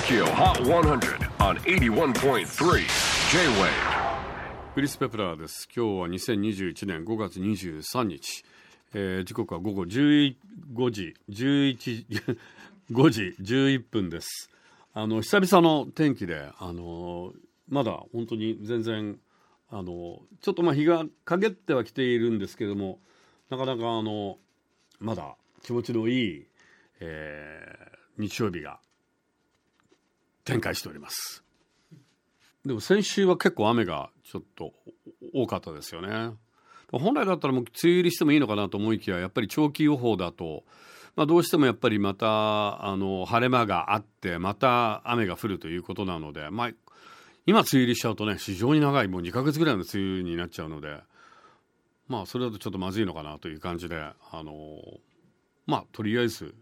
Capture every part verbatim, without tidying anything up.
Tokyo Hot one hundred on エイティワンポイントスリー J-Wave。 クリス・ペプラーです。今日はにせんにじゅういちねんごがつにじゅうさんにち、えー、時刻は午後じゅうごじじゅういちごじじゅういっぷんです。あの久々の天気で、あのまだ本当に全然あのちょっとまあ日が陰ってはきているんですけれども、なかなかあのまだ気持ちのいい、えー、日曜日が展開しております。でも先週は結構雨がちょっと多かったですよね。本来だったらもう梅雨入りしてもいいのかなと思いきや、やっぱり長期予報だと、まあ、どうしてもやっぱりまたあの晴れ間があってまた雨が降るということなので、まあ、今梅雨入りしちゃうとね、非常に長いもうにかげつぐらいの梅雨になっちゃうので、まあそれだとちょっとまずいのかなという感じで、あのまあとりあえず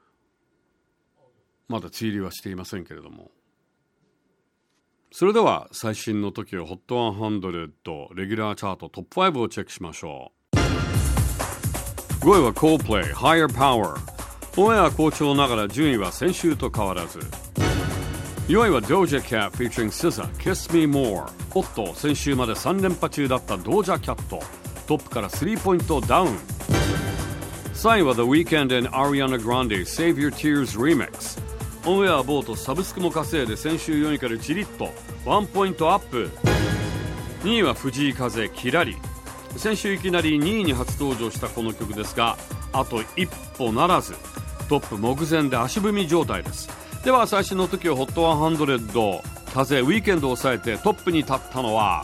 まだ梅雨入りはしていませんけれども。それでは最新の トキオ ホットひゃくレギュラーチャートトップごをチェックしましょう。ごいは Coldplay Higher Power。 オンエア好調ながら順位は先週と変わらず。よいは Doja Cat featuring エスザー Kiss Me More。 おっと、先週までさん連覇中だった Doja Cat、 トップからスリーポイントダウン。さんいは The Weeknd and Ariana Grande Save Your Tears Remix。オンエアボートサブスクも稼いで先週よんいからじりっとワンポイントアップ。にいは藤井風キラリ。先週いきなりにいに初登場したこの曲ですが、あと一歩ならず、トップ目前で足踏み状態です。では最新の トキオ ホットひゃく、風ウィーケンドを抑えてトップに立ったのは、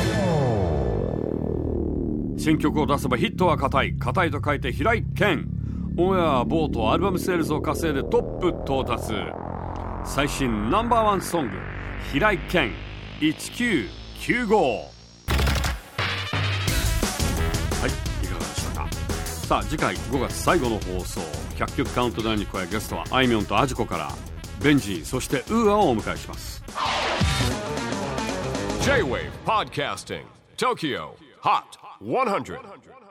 新曲を出せばヒットは固い、固いと書いて平井堅。オンエアボートアルバムセールスを稼いでトップ到達。最新ナンバーワンソング、平井堅いちきゅうきゅうご。はい、いかがでしたか。さあ次回ごがつ最後の放送、ひゃっきょくカウントダウンに加え、ゲストはあいみょんとアジコからベンジー、そしてウーアをお迎えします。 J-Wave Podcasting Tokyo Hot ひゃく。